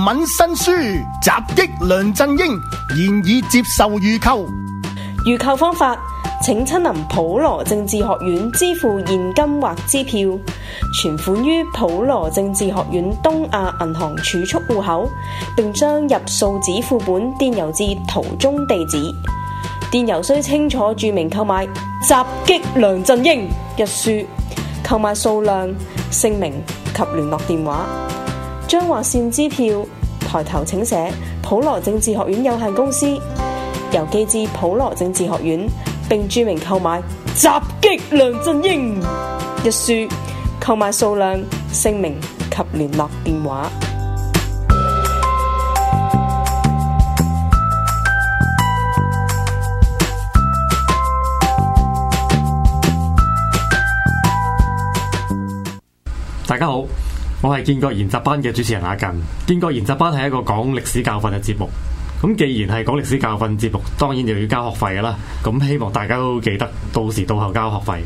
文新書襲擊梁振英，現已接受預購。 預購方法，請親臨普羅政治學院支付現金或支票，存款於普羅政治學院東亞銀行儲蓄戶口，並將入數紙副本電郵至圖中地址。電郵須清楚注明購買襲擊梁振英一書，購買數量、姓名及聯絡電話。將劃線支票抬頭請寫普羅政治學院有限公司，郵寄至普羅政治學院，並注明購買襲擊梁振英一書，購買數量、姓名及聯絡電話。 大家好，我係建國研習班嘅主持人阿近。建國研習班係一個講歷史教訓嘅節目。咁既然係講歷史教訓節目，當然就要交學費㗎啦。咁希望大家都記得到時到後交學費。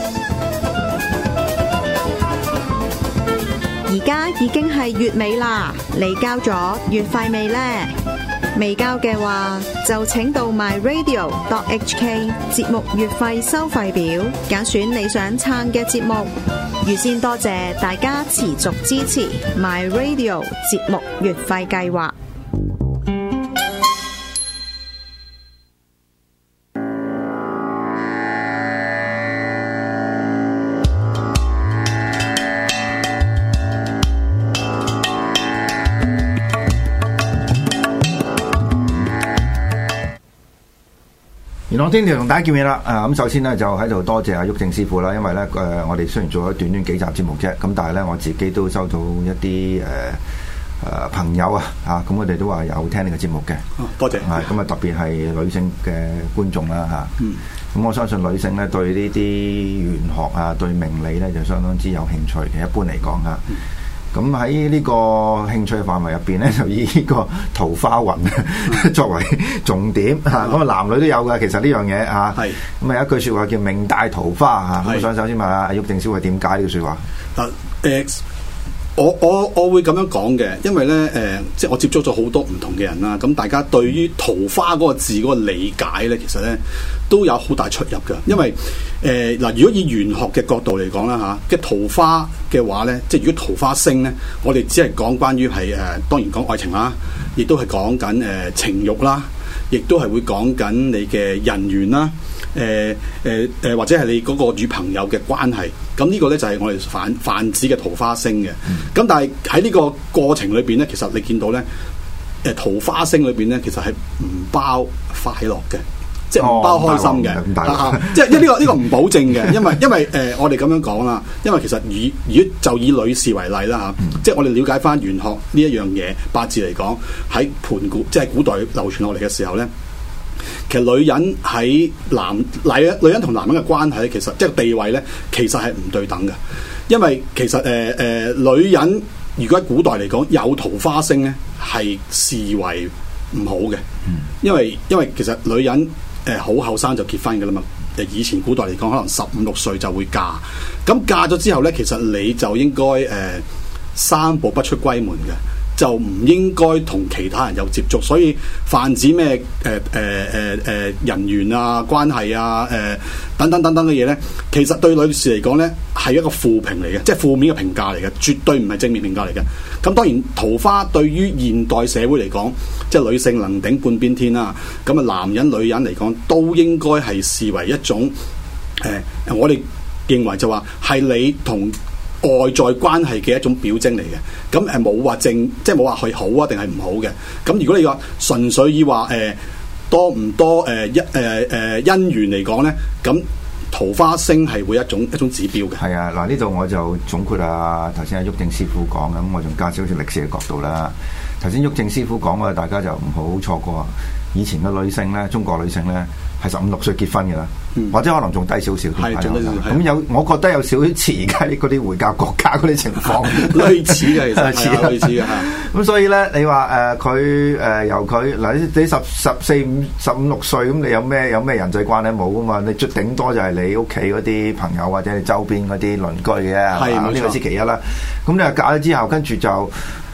而家已經係月尾啦，你交咗月費未呢？未交嘅話，就請到 myradio.hk 節目月費收費表，揀選你想撐嘅節目。預先多謝大家持續支持 myradio 節目月費計劃。 元朗天條同大家見面啦，咁首先咧就喺度多謝阿毓証師傅啦，因為咧我哋雖然做咗短短幾集節目啫，咁但係咧我自己都收到一啲朋友咁佢哋都話有聽呢個節目嘅， 多謝， 咁啊特別係女性嘅觀眾啦咁我相信女性咧對呢啲玄學對命理咧就相當之有興趣嘅，一般嚟講咁喺呢個興趣範圍入邊咧，就以呢個桃花運作為重點咁啊男女都有嘅，其實呢樣嘢係咁有一句説話叫命帶桃花咁我想首先問下阿毓証師傅點解呢句説話？ 我會咁樣講嘅，因為咧即係我接觸咗好多唔同嘅人啦，咁大家對於桃花嗰個字嗰個理解咧，其實咧都有好大出入嘅。因為如果以玄學嘅角度嚟講啦嘅桃花嘅話咧，即係如果桃花星咧，我哋只係講關於係當然講愛情啦，亦都係講緊情慾啦，亦都係會講緊你嘅人緣啦。或者係你嗰個與朋友嘅關係，咁呢個咧就係我哋泛指嘅桃花星嘅。咁但係喺呢個過程裏邊咧，其實你見到咧，桃花星裏邊咧，其實係唔包快樂嘅，即係唔包開心嘅，即係呢個唔保證嘅，因為我哋咁樣講啦，因為其實如果就以女士為例啦即係我哋了解翻玄學呢一樣嘢，八字嚟講喺盤古即係古代流傳落嚟嘅時候咧。其實女人喺女人同男人嘅關係咧，其實即係地位咧，其實係唔對等嘅。因為其實女人如果喺古代嚟講有桃花星咧，係視為唔好嘅。因為其實女人好後生就結婚㗎啦嘛。以前古代嚟講，可能15、16歲就會嫁。咁嫁咗之後咧，其實你就應該3步不出閨門嘅。就唔應該同其他人有接觸，所以泛指咩人緣關係等等嘅嘢咧，其實對女士嚟講咧係一個負評嚟嘅，即係負面嘅評價嚟嘅，絕對唔係正面評價嚟嘅。咁當然桃花對於現代社會嚟講，即係女性能頂半邊天啦。咁男人女人嚟講都應該係視為一種我哋認為就話係你同外在關係嘅一種表徵嚟嘅，咁冇話即係冇話佢好定係唔好嘅。咁如果你話純粹以話多唔多姻緣嚟講咧，咁桃花星係會一種指標嘅。係嗱呢度我就總括頭先阿毓証師傅講咁，我仲加少少歷史嘅角度啦。頭先毓証師傅講嘅，大家就唔好錯過。以前嘅女性咧，中國女性咧係15、16歲結婚嘅啦，或者可能仲低少少。咁我覺得有少少似而家嗰啲回教國家嗰啲情況， 類似嘅，其實類似嘅。 咁所以咧，你話佢由佢嗱，你14、15、16歲，咁你有咩人際關係冇噶嘛？你最頂多就係你屋企嗰啲朋友或者你周邊嗰啲鄰居嘅，呢個先其一啦。咁你話嫁咗之後，跟住就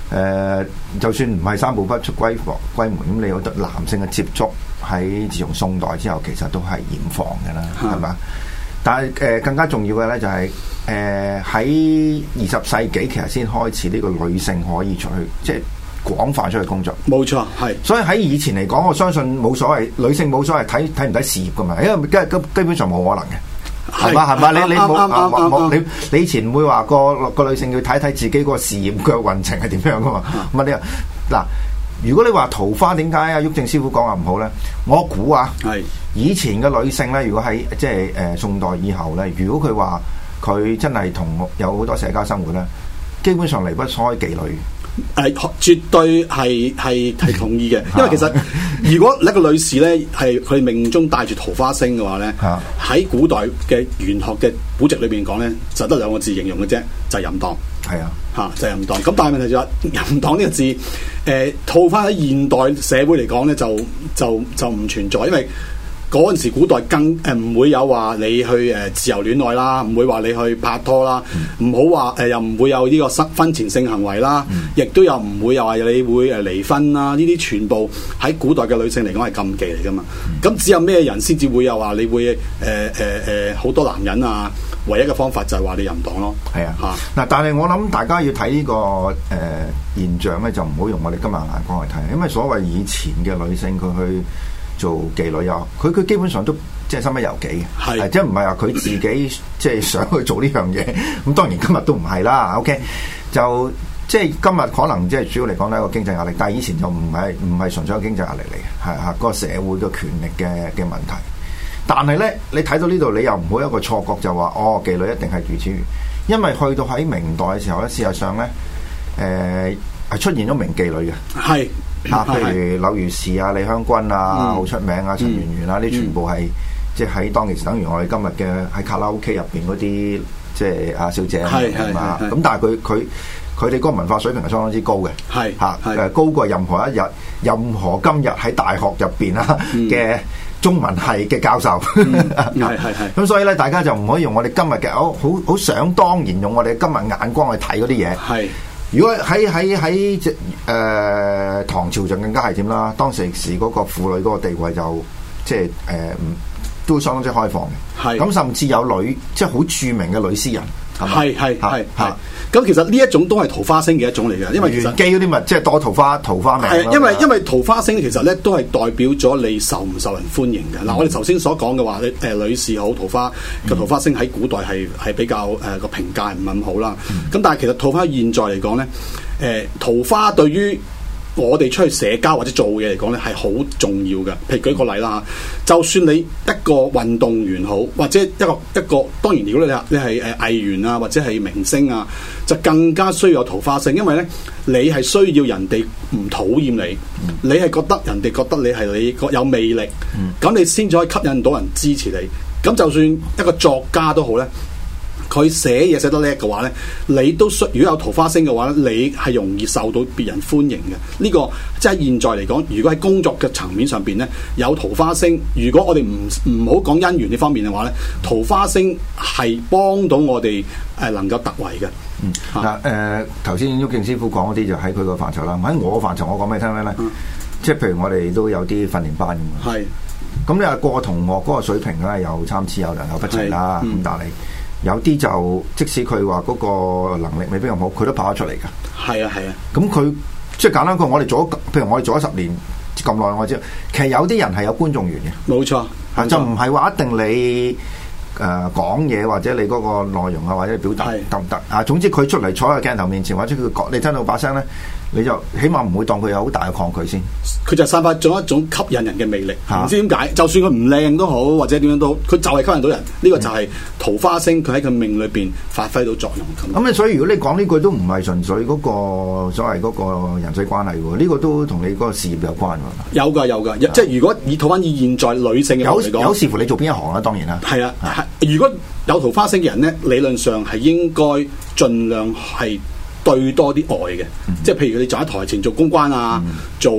就算唔係三步不出閨門，咁你有得男性嘅接觸喺自從宋代之後，其實都係嚴防嘅啦，係嘛？但係更加重要嘅咧就係喺20世紀其實先開始呢個女性可以出去，即係廣泛出去工作。冇錯，係。所以喺以前嚟講，我相信冇所謂，女性冇所謂睇唔睇事業噶嘛，因為基本上冇可能嘅。係嘛？你冇你以前唔會話個女性要睇自己個事業嘅運程係點樣噶嘛？咁啊嗱，如果你話桃花點解啊毓証師傅講話唔好咧？我估係以前嘅女性咧，如果喺即係宋代以後咧，如果佢話佢真係同有好多社交生活咧，基本上離不開妓女。絕對係同意嘅，因為其實如果一個女士咧係佢命中帶住桃花星嘅話咧，喺古代嘅玄學嘅古籍裏邊講咧，就得2個字形容嘅啫，就係淫蕩。係啊，就係淫蕩。咁但係問題就係淫蕩呢個字，套翻喺現代社會嚟講咧，就唔存在，因為嗰陣時古代更唔會有話你去自由戀愛啦，唔會話你去拍拖啦，唔好話又唔會有呢個婚前性行為啦，亦都有唔會又話你會離婚啦，呢啲全部喺古代嘅女性嚟講係禁忌嚟噶嘛。咁只有咩人先至會有話你會好多男人啊？唯一嘅方法就係話你淫蕩咯。係啊，嗱，但係我諗大家要睇呢個現象咧，就唔好用我哋今日眼光去睇，因為所謂以前嘅女性佢去做妓女啊，佢基本上都即係身不由己嘅，係即係唔係話佢自己即係想去做呢樣嘢。咁當然今日都唔係啦。OK， 就即係今日可能即係主要嚟講咧個經濟壓力，但係以前就唔係純粹個經濟壓力嚟嘅，係個社會嘅權力嘅問題。但係咧，你睇到呢度，你又唔好有一個錯覺就話妓女一定係如此，因為去到喺明代嘅時候咧，事實上咧係出現咗名妓女嘅，係。譬如柳如是啊、李香君啊，好出名啊，陳圓圓啊，呢全部係即係喺當其時等於我哋今日嘅喺卡拉 OK 入邊嗰啲即係阿小姐啊，咁但係佢哋嗰個文化水平係相當之高嘅，高過任何今日喺大學入邊啊嘅中文系嘅教授，咁所以咧，大家就唔可以用我哋今日嘅好想當然用我哋今日眼光去睇嗰啲嘢。係。如果喺唐朝就更加係點啦？當時嗰個婦女嗰個地位就即係都相當之開放嘅。係咁，甚至有即係好著名嘅女詩人。係。咁其實呢一種都係桃花星嘅一種嚟嘅，因為玄機嗰啲咪即係多桃花命。係因為桃花星其實咧都係代表咗你受唔受人歡迎嘅。嗱，我哋頭先所講嘅話，女士好桃花星喺古代係比較個評價唔係咁好啦。咁但係其實桃花現在嚟講咧，桃花對於我哋出去社交或者做嘢嚟講咧係好重要嘅。譬如舉個例啦，就算你一個運動員好，或者一個當然如果你係藝員啊或者係明星啊，就更加需要有桃花星，因為咧你係需要人哋唔討厭你，你係覺得人哋覺得你係你有魅力，咁你先至可以吸引到人支持你。咁就算一個作家都好咧，佢寫嘢寫得叻嘅話咧，你都如果有桃花星嘅話咧，你係容易受到別人歡迎嘅。呢個即係現在嚟講，如果喺工作嘅層面上邊咧有桃花星，如果我哋唔好講姻緣呢方面嘅話咧，桃花星係幫到我哋能夠突圍嘅。嗱頭先毓証師傅講嗰啲就喺佢個範疇啦。喺我個範疇，我講俾你聽咩咧？即係譬如我哋都有啲訓練班咁嘛。係。咁你話個同學嗰個水平咧有參差有良莠不齊啦。咁但係有啲就即使佢話嗰個能力未必咁好，佢都跑得出嚟㗎。係啊。咁佢即係簡單講，譬如我哋做咗10年咁耐，我知其實有啲人係有觀眾緣嘅。冇錯，就唔係話一定你講嘢或者你嗰個內容啊或者你表達得唔得啊？總之佢出嚟坐喺鏡頭面前或者佢講你聽到把聲咧，你就起碼唔會當佢有好大嘅抗拒先。佢就散發咗一種吸引人嘅魅力，唔知點解，就算佢唔靚都好，或者點樣都好，佢就係吸引到人。呢個就係桃花星，佢喺佢命裏邊發揮到作用。咁所以如果你講呢句都唔係純粹嗰個所謂嗰個人際關係喎，呢個都同你嗰個事業有關喎。有㗎，即係如果以桃花以現在女性嘅嚟講，有視乎你做邊一行啦，當然啦。係啊，如果有桃花星嘅人咧，理論上係應該盡量係對多啲愛嘅，即係譬如你就喺台前做公關啊，做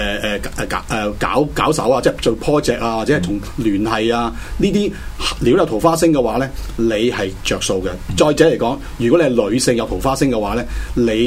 搞手啊，即係做 project 啊，或者係同聯繫啊，呢啲如果有桃花星嘅話咧，你係着數嘅。再者嚟講，如果你係女性有桃花星嘅話咧，你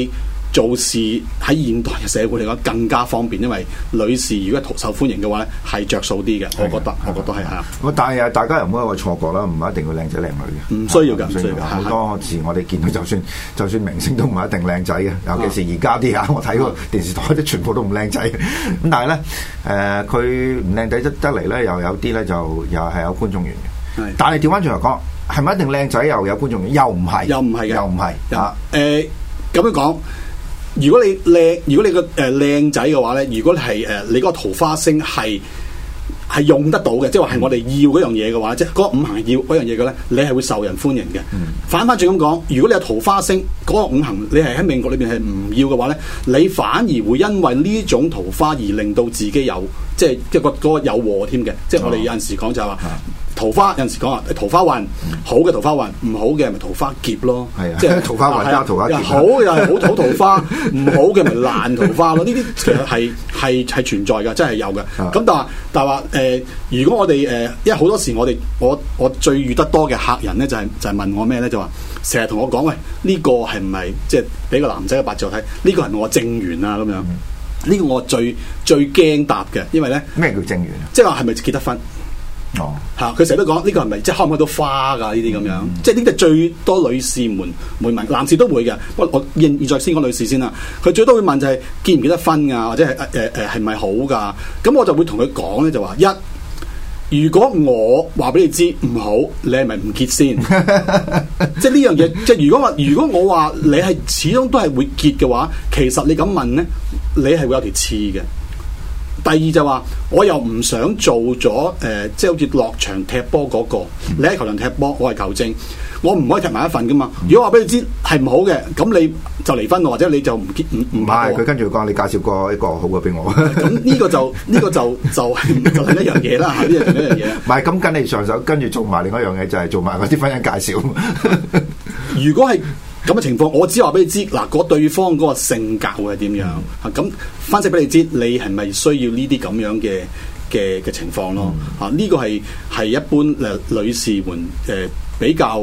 做事喺現代嘅社會嚟講更加方便，因為女士如果受歡迎嘅話咧，係着數啲嘅。我覺得係啊。 但係大家又唔好有個錯覺啦，唔係一定要靚仔靚女嘅， 唔需要㗎，唔需要㗎。 好多時我哋見到就算明星都唔係一定靚仔嘅，尤其是而家啲我睇個電視台啲全部都唔靚仔。咁但係咧佢唔靚仔得嚟咧，又有啲咧就又係有觀眾緣嘅。但係調翻轉嚟講，係咪一定靚仔又有觀眾緣？又唔係啊？ 咁樣講。如果你個靚仔嘅話咧，如果係你嗰個桃花星係用得到嘅，即係話係我哋要嗰樣嘢嘅話，即係嗰個五行要嗰樣嘢嘅咧，你係會受人歡迎嘅。反轉咁講，如果你有桃花星嗰個五行，你係喺命局裏邊係唔要嘅話咧，你反而會因為呢種桃花而令到自己有即係嗰個有禍添嘅。即係我哋有陣時講就係話。桃花有陣時講啊，桃花運好嘅桃花運，唔好嘅咪桃花劫咯。係啊，即係桃花運加桃花劫。好嘅又係好桃花，唔好嘅咪爛桃花咯。呢啲其實係存在嘅，真係有嘅。咁但係話如果我哋因為好多時我最遇得多嘅客人咧，就係問我咩咧，就話成日同我講，喂，呢個係唔係即係俾個男仔嘅八字我睇？呢個係我正緣啊咁樣。呢個我最驚答嘅，因為咧咩叫正緣啊？ 即係話係咪結得婚？哦，嚇！佢成日都講呢個係咪即係開唔開到花㗎？呢啲咁樣，即係呢啲最多女士們會問，男士都會嘅。不過我現在先講女士先啦。佢最多會問就係結唔結得婚啊，或者係係咪好㗎？咁我就會同佢講咧，就話如果我話俾你知唔好，你係咪唔結先？即係呢樣嘢，即係如果我話你係始終都係會結嘅話，其實你咁問咧，你係會有條刺嘅。第二就話，我又唔想做咗即係好似落場踢波嗰個，你喺球場踢波，我係球證，我唔可以踢埋一份噶嘛。如果話俾你知係唔好嘅，咁你就離婚，或者你就唔係佢跟住講，你介紹過一個好嘅俾我。 咁呢個就另一樣嘢啦，呢個另一樣嘢。 唔係咁跟你上手，跟住做埋另一樣嘢，就係做埋嗰啲婚姻介紹。 如果係咁嘅情況，我只話俾你知嗱，嗰對方嗰個性格會係點樣咁分析俾你知，你係咪需要呢啲咁樣嘅情況咯？呢個係一般女士們比較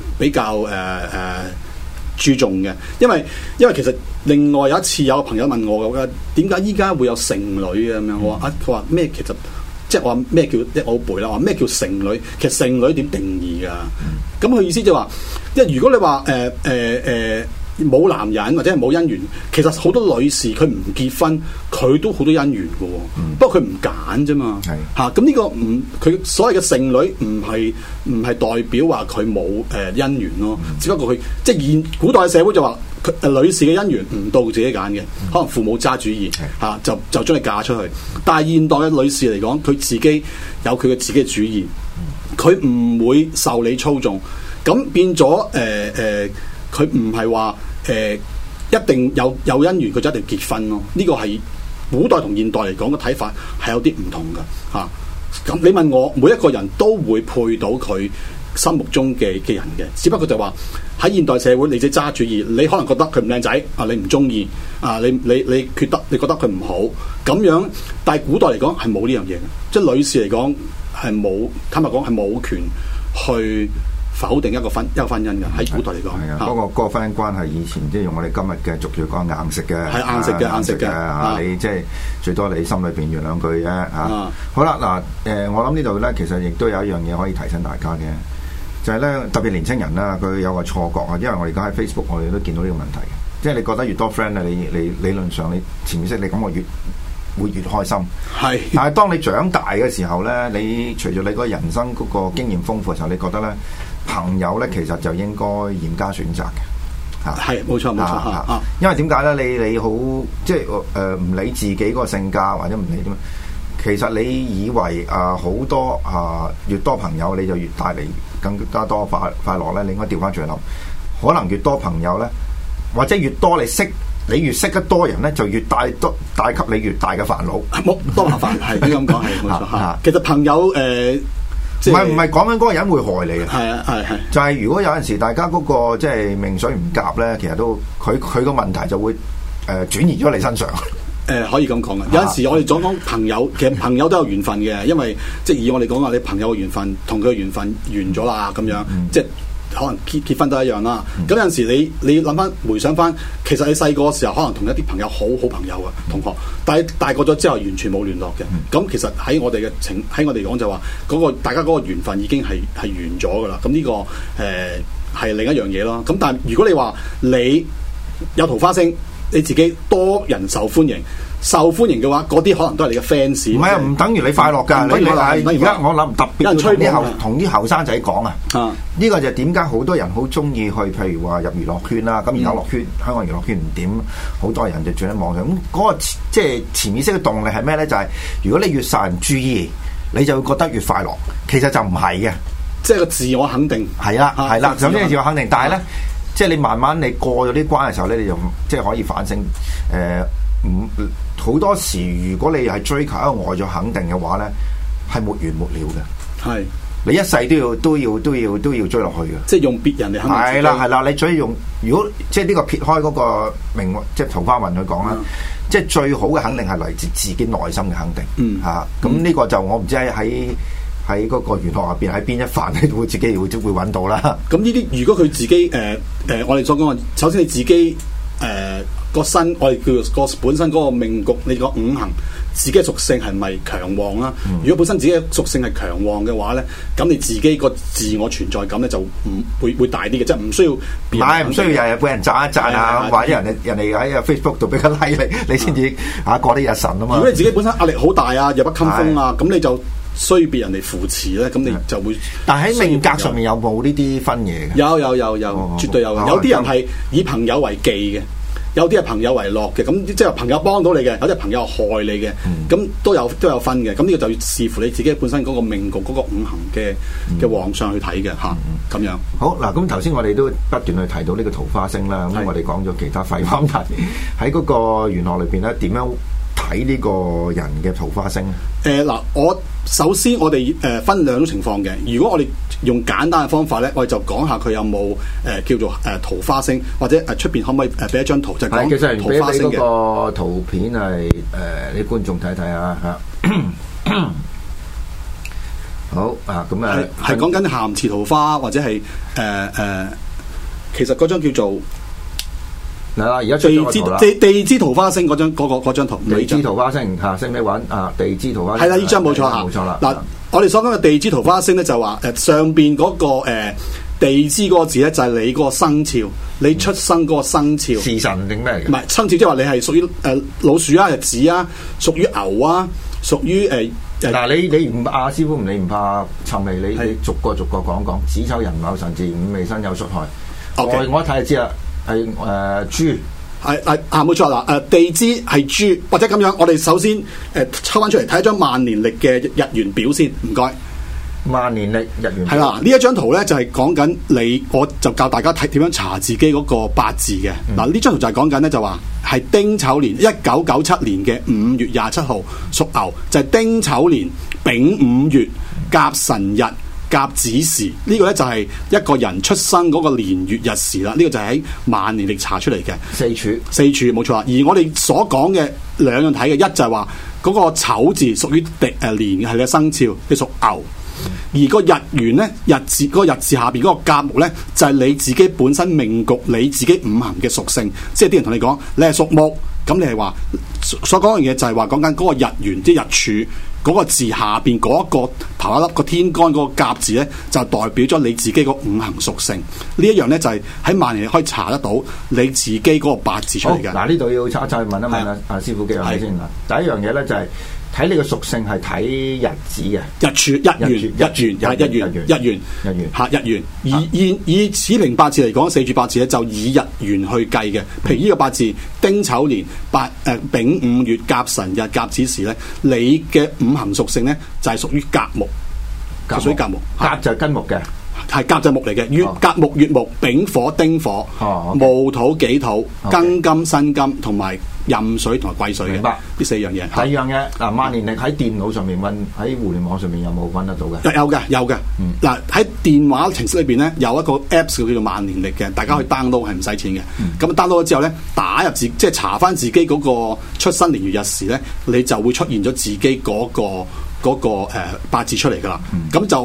注重嘅，因為其實另外有一次有個朋友問我嘅，點解依家會有剩女啊咁樣？我話佢話咩？其實即係我話咩叫我好背啦，話咩叫剩女？其實剩女點定義㗎？咁佢意思就話，因為如果你話冇男人或者係冇姻緣，其實好多女士佢唔結婚，佢都好多姻緣嘅喎。不過佢唔揀啫嘛。咁呢個佢所謂嘅剩女唔係代表話佢冇姻緣咯。只不過佢即係現古代嘅社會就話，女士嘅姻緣唔到自己揀嘅，可能父母揸主意就將你嫁出去。但係現代嘅女士嚟講，佢自己有佢嘅自己嘅主意，佢唔會受你操縱。咁變咗佢唔係話一定有姻緣佢就一定結婚咯。呢個係古代同現代嚟講嘅睇法係有啲唔同㗎嚇。咁你問我，每一個人都會配到佢心目中嘅人嘅，只不過就話喺現代社會，你自己揸主意，你可能覺得佢唔靚仔啊，你唔中意啊，你覺得佢唔好咁樣，但係古代嚟講係冇呢樣嘢嘅，即係女士嚟講係冇，坦白講係冇權去否定一個婚姻嘅。喺古代嚟講， 係啊，嗰個婚姻關係以前即係用我哋今日嘅俗語講硬食嘅， 係硬食嘅。 你即係最多你心裏邊原諒句啫嚇。好啦嗱，我諗呢度咧，其實亦都有一樣嘢可以提醒大家嘅，就係咧特別年青人啦，佢有個錯覺啊，因為我哋而家喺 Facebook 我哋都見到呢個問題嘅，即係你覺得越多 friend 咧，你理論上你潛意識你咁我會越開心，係。但係當你長大嘅時候咧，你隨住你個人生嗰個經驗豐富嘅時候，你覺得咧朋友咧其實就應該嚴加選擇嘅，嚇。係冇錯嚇。因為點解咧？你好即係唔理自己嗰個性格或者唔理點樣，其實你以為好多越多朋友你就越帶嚟更加多快樂咧，你應該調翻轉諗，可能越多朋友咧，或者越多你越識得多人咧，就越帶給你越大嘅煩惱， 冇多麻煩，係咁講係冇錯嚇。其實朋友唔係講緊嗰個人會害你嘅，係啊係。就係如果有陣時大家嗰個即係命水唔夾咧，其實都佢個問題就會轉移咗你身上。 可以咁講嘅，有陣時我哋講朋友，其實朋友都有緣分嘅，因為即係以我哋講話，你朋友嘅緣分同佢嘅緣分完咗啦，咁樣即係可能結婚都一樣啦。咁有陣時你諗翻回想翻，其實你細個嘅時候可能同一啲朋友好朋友嘅同學，但係大個咗之後完全冇聯絡嘅。咁其實喺我哋嚟講就話大家嗰個緣分已經係完咗噶啦。咁呢個係另一樣嘢咯。咁但係如果你話你有桃花星，你自己多人受歡迎嘅話，嗰啲可能都係你嘅 fans。 唔係啊，唔等於你快樂㗎。你而家我諗特別要同啲後生仔講啊。呢個就點解好多人好中意去，譬如話入娛樂圈啦。咁而家香港娛樂圈唔掂，好多人就轉喺網上。咁嗰個即係潛意識嘅動力係咩咧？就係如果你越受人注意，你就會覺得越快樂。其實就唔係嘅，即係個自我肯定。係啦，首先係自我肯定，但係咧。即係你慢慢你過咗啲關嘅時候咧，你就即係可以反省。好多時如果你係追求一個外在肯定嘅話咧，係沒完沒了嘅。係你一世都要追落去嘅。即係用別人嚟肯定自己。係啦，你最用如果即係呢個撇開嗰個命即係桃花運去講啦，即係最好嘅肯定係嚟自自己內心嘅肯定。咁呢個就我唔知喺嗰個玄學入邊喺邊一範咧，會自己會揾到啦。咁呢啲如果佢自己我哋所講嘅，首先你自己個身，我哋叫做個本身嗰個命局，你個五行自己嘅屬性係咪強旺啦？如果本身自己嘅屬性係強旺嘅話咧，咁你自己個自我存在感咧就唔會大啲嘅，即係唔需要。唔需要日日俾人讚一讚啊，或者人哋喺 Facebook 度俾個 like 你先至過啲日神啊嘛。如果你自己本身壓力好大啊，弱不禁風啊，咁你就需要別人嚟扶持咧，咁你就會。但喺命格上面有冇呢啲分嘢嘅？有，絕對有。有啲人係以朋友為忌嘅，有啲係朋友為樂嘅。咁即係朋友幫到你嘅，有啲係朋友害你嘅。咁都有分嘅。咁呢個就要視乎你自己本身嗰個命局嗰個五行嘅旺相去睇嘅嚇。咁樣。好嗱，咁頭先我哋都不斷去提到呢個桃花星啦。咁我哋講咗其他廢話題，喺嗰個玄學裏邊咧，點樣睇呢個人嘅桃花星？我首先我哋分兩種情況嘅。如果我哋用簡單嘅方法咧，我哋就講下佢有冇叫做桃花星，或者出邊可唔可以俾一張圖，就講桃花星嘅。其實嗰個圖片係啲觀眾睇睇啊嚇。好啊，咁啊係講緊咸池桃花，或者係其實嗰張叫做。嗱，而家地支桃花星嗰張圖，地支桃花星嚇，識唔識揾啊？地支桃花星係啦，呢張冇錯嚇，冇錯啦。嗱，我哋所講嘅地支桃花星咧，就話上邊嗰個地支嗰個字咧，就係你嗰個生肖，你出生嗰個生肖。時辰定咩嚟嘅？唔係生肖，即係話你係屬於老鼠啊、日子啊，屬於牛啊，屬於嗱，你唔師傅你唔怕尋味，你逐個講講。子丑寅卯辰巳午未申酉戌亥。我一睇就知啦。係豬，冇錯啦。地支係豬，或者咁樣，我哋首先抽翻出嚟睇一張萬年曆嘅日元表先，唔該。萬年曆日元係啦，呢一張圖咧就係講緊你，我就教大家睇點樣查自己嗰個八字嘅。嗱，呢張圖就係講緊咧，就話係丁丑年1997年嘅5月27號屬牛，就係丁丑年丙午月甲辰日甲子時，呢個咧就係一個人出生嗰個年月日時啦。呢個就係喺萬年曆查出嚟嘅四柱冇錯啦。而我哋所講嘅兩樣睇嘅，一就係話嗰個丑字屬於年嘅，係你嘅生肖，你屬牛。而個日元咧，日字嗰個日字下邊嗰個甲木咧，就係你自己本身命局，你自己五行嘅屬性。即係啲人同你講，你係屬木，咁你係話所講嘅嘢就係話講緊嗰個日元，即係日柱。嗰個字下邊嗰一個頭一粒個天干嗰個甲字咧，就代表咗你自己個五行屬性。呢一樣咧就係喺萬年可以查得到你自己嗰個八字出嚟嘅。嗱，呢度要查一查，問一問阿師傅幾樣嘢先啦。第一樣嘢咧就係睇你個屬性係睇日子嘅，日柱、日元。以此平八字嚟講，四柱八字咧就以日元去計嘅。譬如呢個八字丁丑年丙午月甲辰日甲子時咧，你嘅五行屬性咧就係屬於甲木，屬於甲木。甲就係根木嘅，係甲就係木嚟嘅。月甲木、月木、丙火、丁火、戊土、己土、庚金、辛金同埋壬水同埋癸水嘅。明白呢四樣嘢。第二樣嘢嗱，萬年曆喺電腦上面揾，喺互聯網上面有冇揾得到嘅？有嘅。嗱，喺電話程式裏邊咧有一個 Apps 叫做萬年曆嘅，大家可以 download 係唔使錢嘅。咁 download 咗之後咧，打入即係查翻自己嗰個出生年月日時咧，你就會出現咗自己嗰個八字出嚟噶啦。咁就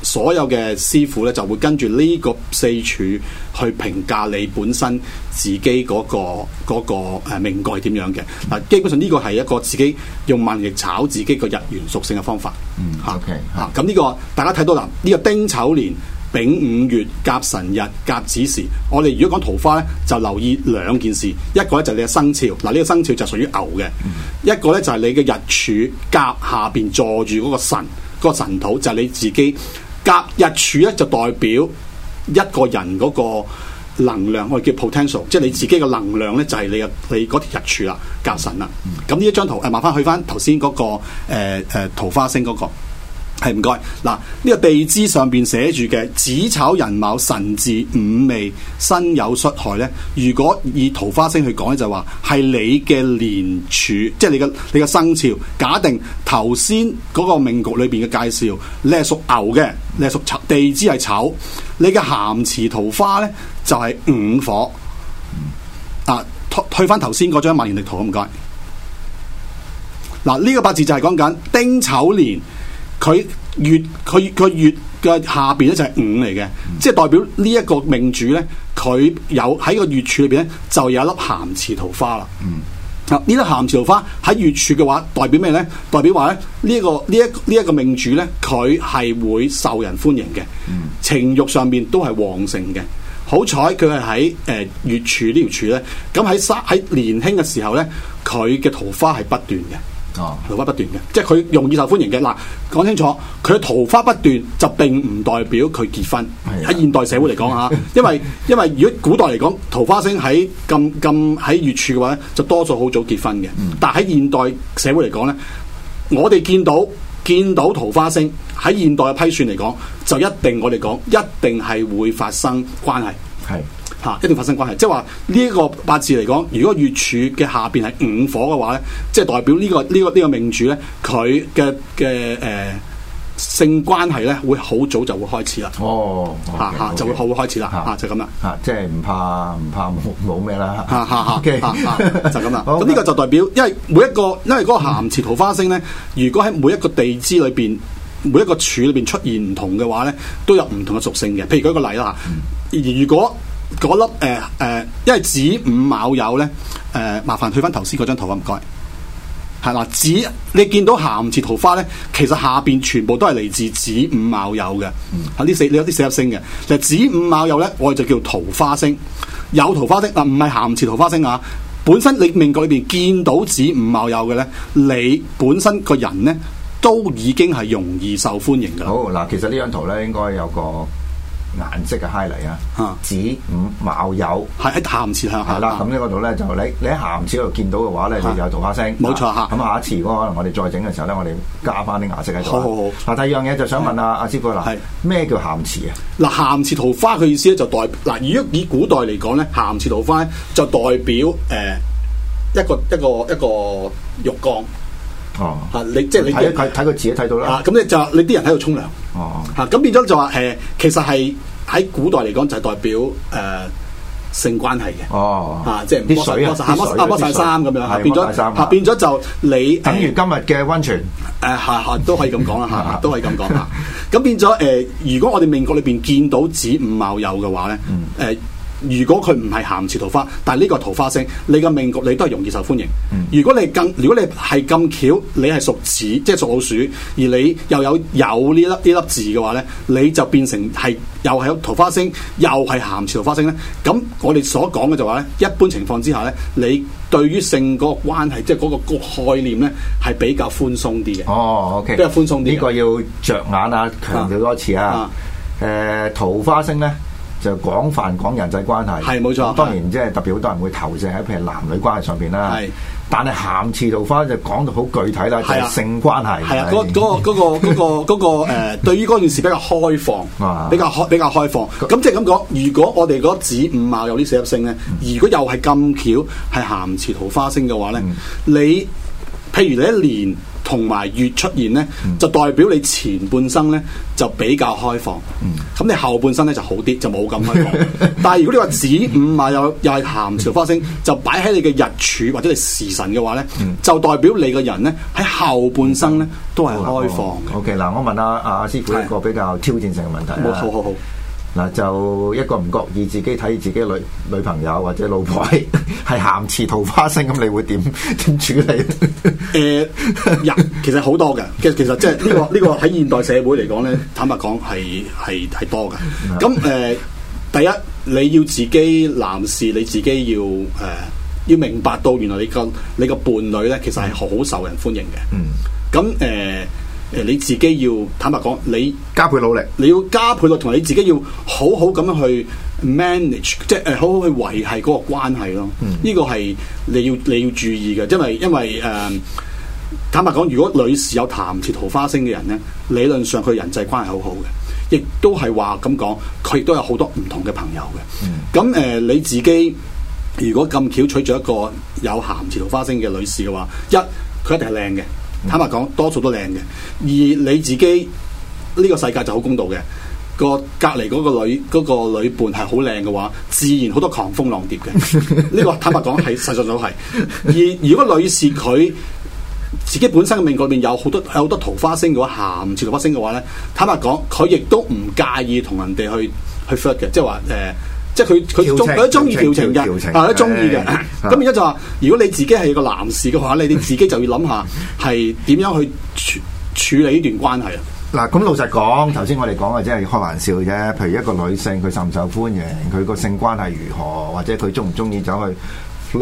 所有嘅師傅咧就會跟住呢個四柱去評價你本身自己嗰個命格係點樣嘅。嗱，基本上呢個係一個自己用萬力炒自己個日元屬性嘅方法。 OK 咁呢個大家睇到啦，呢個丁丑年丙午月甲辰日甲子時，我哋如果講桃花咧，就留意兩件事，一個咧就係你嘅生肖，嗱呢個生肖就屬於牛嘅，一個咧就係你嘅日柱甲下邊坐住嗰個神，嗰個神土就係你自己。甲日柱咧就代表一個人嗰個能量，我哋叫 potential， 即係你自己嘅能量咧就係你嗰條日柱啦，甲辰啦。咁呢一張圖麻煩去翻頭先嗰個桃花星嗰個。係唔該，嗱呢個地支上邊寫住嘅子丑寅卯辰巳午未申酉戌亥咧，如果以桃花星去講咧，就話係你嘅年柱，即係你嘅生肖。假定頭先嗰個命局裏邊嘅介紹，你係屬牛嘅，你係屬丑，地支係丑，你嘅咸池桃花咧就係午火。去翻頭先嗰張萬年曆圖，唔該。嗱呢個八字就係講緊丁丑年。佢月嘅下邊咧就係午嚟嘅，即係代表呢一個命主咧，佢有喺個月柱裏邊咧就有一粒咸池桃花啦。呢粒咸池桃花喺月柱嘅話，代表咩咧？代表話咧呢一個命主咧，佢係會受人歡迎嘅，情慾上面都係旺盛嘅。好彩佢係喺月柱呢條柱咧，咁喺年輕嘅時候咧，佢嘅桃花係不斷嘅。桃花不斷嘅，即係佢容易受歡迎嘅。嗱，講清楚，佢嘅桃花不斷就並唔代表佢結婚。喺現代社會嚟講嚇，因為如果古代嚟講，桃花星喺咁喺月柱嘅話咧，就多數好早結婚嘅。但係喺現代社會嚟講咧，我哋見到桃花星喺現代嘅批算嚟講，就一定我哋講一定係會發生關係。係。一定發生關係，即係話呢一個八字嚟講，如果月柱嘅下邊係午火嘅話咧，即係代表呢個命主咧，佢嘅性關係咧會好早就會開始啦。就會開始啦，就咁啦。 即係唔怕冇咩啦。 就咁啦。咁呢個就代表，因為嗰個咸池桃花星咧，如果喺每一個地支裏邊，每一個柱裏邊出現唔同嘅話咧，都有唔同嘅屬性嘅。譬如舉個例啦，如果嗰粒因為子午卯酉咧，麻煩退翻頭先嗰張圖啊，唔該。係啦，你見到咸池桃花咧，其實下邊全部都係嚟自子午卯酉嘅。你有啲四粒星嘅，就子午卯酉咧，我哋就叫桃花星。有桃花星唔係咸池桃花星啊。本身你命局裏邊見到子午卯酉嘅咧，你本身個人咧都已經係容易受歡迎噶啦。 好嗱，其實呢張圖咧應該有個顏色嘅 highlight 啊，子午卯酉係喺咸池向下啦。咁呢個度咧就你喺咸池嗰度見到嘅話咧，你就有桃花星。 冇錯嚇。 咁下一次如果可能我哋再整嘅時候咧，我哋加翻啲顏色喺度。 好。 嗱，第二樣嘢就想問阿師傅啦，咩叫咸池啊？ 嗱，咸池桃花嘅意思咧就如果以古代嚟講咧，咸池桃花就代表一個浴缸。你即係你睇個字都睇到啦。 咁你啲人喺度沖涼。咁變咗就話其實係喺古代嚟講就係代表性關係嘅。即係啲水剝晒衫咁樣，變咗就你等於今日嘅溫泉。 都可以咁講啦，都可以咁講嚇。咁變咗如果我哋命局裏邊見到子午卯酉嘅話咧，如果佢唔係咸池桃花，但係呢個桃花星，你嘅命局你都係容易受歡迎。如果你係咁巧，你係屬子，即係屬老鼠，而你又有呢粒字嘅話咧，你就變成係又係桃花星，又係咸池桃花星咧。咁我哋所講嘅就話咧，一般情況之下咧，你對於性嗰個關係，即係嗰個概念咧，係比較寬鬆啲嘅。 OK， 比較寬鬆啲。 呢個要着眼啊，強調多次啊。桃花星咧，就廣泛講人際關係， 係冇錯。 當然即係特別好多人會投射喺譬如男女關係上邊啦。係，但係咸池桃花就講到好具體啦，就係性關係。係啊， 嗰個對於嗰件事比較開放，比較開放。咁即係咁講，如果我哋嗰子午卯有呢四粒星咧，如果又係咁巧係咸池桃花星嘅話咧，你譬如你一年同埋月出現咧，就代表你前半生咧就比較開放，咁你後半生咧就好啲，就冇咁開放。但係如果你話子午啊，又係咸池桃花星，就擺喺你嘅日柱或者你時辰嘅話咧，就代表你個人咧喺後半生咧都係開放嘅。 OK， 嗱，我問阿師傅一個比較挑戰性嘅問題啦。 好。 嗱，就一個唔覺意自己睇自己女朋友或者老婆係咸池桃花星，咁你會點處理？ 其實好多嘅，其實即係呢個喺現代社會嚟講咧，坦白講係多嘅。咁第一你要自己男士你自己要明白到原來你個伴侶咧，其實係好受人歡迎嘅。咁你自己要坦白講，你加倍努力， 你要加倍努力，同你自己要好好咁樣去 manage， 即係好好去維繫嗰個關係咯。呢個係你要注意嘅，因為坦白講，如果女士有咸池桃花星嘅人咧，理論上佢人際關係好好嘅，亦都係話咁講，佢亦都有好多唔同嘅朋友嘅。咁你自己如果咁巧娶咗一個有咸池桃花星嘅女士嘅話，佢一定係靚嘅。坦白講，多數都靚嘅。而你自己呢個世界就好公道嘅，隔離嗰個女伴係好靚嘅話，自然好多狂蜂浪蝶嘅。呢個坦白講係實在都係。而如果女士佢自己本身嘅命裏面有好多桃花星嘅話，咸池桃花星嘅話咧，坦白講佢亦都唔介意同人哋去 flirt 嘅，即係話即係佢都中意調情嘅，都中意嘅。咁而家就話，如果你自己係個男士嘅話，你自己就要諗下係點樣去處理呢段關係啊。 嗱，咁老實講，頭先我哋講嘅只係開玩笑啫。譬如一個女性，佢受唔受歡迎，佢個性關係如何，或者佢中唔中意走去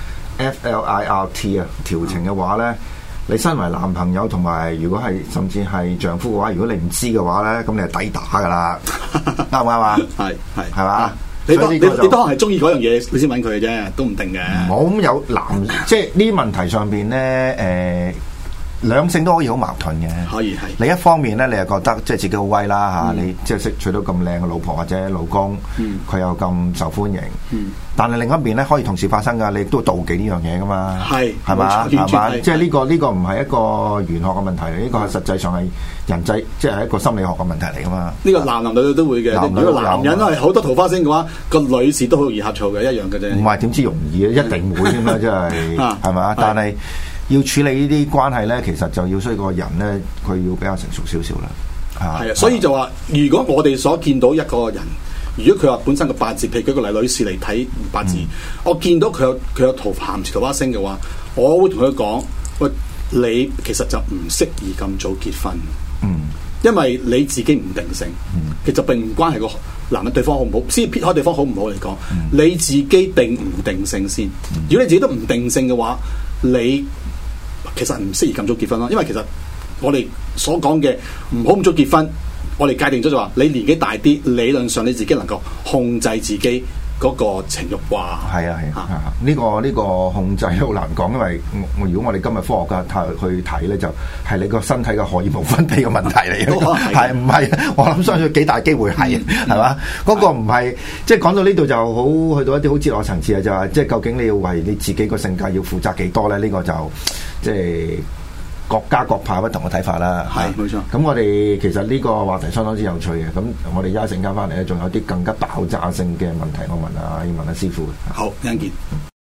flirt 啊調情嘅話咧，你身為男朋友同埋如果係甚至係丈夫嘅話，如果你唔知嘅話咧，咁你係抵打噶啦，啱唔啱啊？係嘛？你都可能係中意嗰樣嘢，你先揾佢嘅啫，都唔定嘅。冇咁有即係呢啲問題上邊咧，兩性都可以好矛盾嘅。可以係。另一方面咧，你又覺得即係自己好威啦嚇，你即係識娶到咁靚嘅老婆或者老公，佢又咁受歡迎。但係另一邊咧，可以同時發生㗎，你都妒忌呢樣嘢㗎嘛。係嘛？即係呢個唔係一個玄學嘅問題嚟，呢個係實際上係人際，即係一個心理學嘅問題嚟㗎嘛。呢個男女都會嘅。如果男人係好多桃花星嘅話，個女士都好容易呷醋嘅，一樣嘅啫。唔係點知容易啊？一定會添啦，真係係嘛？但係要處理呢啲關係咧，其實就要需要個人咧，佢要比較成熟少少啦。係啊，所以就話，如果我哋所見到一個人，如果佢話本身個八字，譬如舉個例，女士嚟睇八字，我見到佢有咸池桃花星嘅話，我會同佢講：喂，你其實就唔適宜咁早結婚。因為你自己唔定性，其實並唔關係個男人對方好唔好，先撇開對方好唔好嚟講，你自己定唔定性先。如果你自己都唔定性嘅話，你其實唔適宜咁早結婚咯。因為其實我哋所講嘅唔好咁早結婚，我哋界定咗就話你年紀大啲，理論上你自己能夠控制自己嗰個情慾啩。係啊，呢個控制好難講，因為如果我哋今日科學家去睇咧，就係你個身體嘅荷爾蒙分泌嘅問題嚟嘅，係唔係？我諗相信幾大機會係嘛？嗰個唔係即係講到呢度就好去到一啲好哲學層次啊，就係即係究竟你要為你自己個性格要負責幾多咧？呢個就即係各家各派不同嘅睇法啦。係冇錯。咁我哋其實呢個話題相當之有趣嘅。咁我哋一陣間翻嚟咧，仲有啲更加爆炸性嘅問題，我問下師傅。好，一陣見。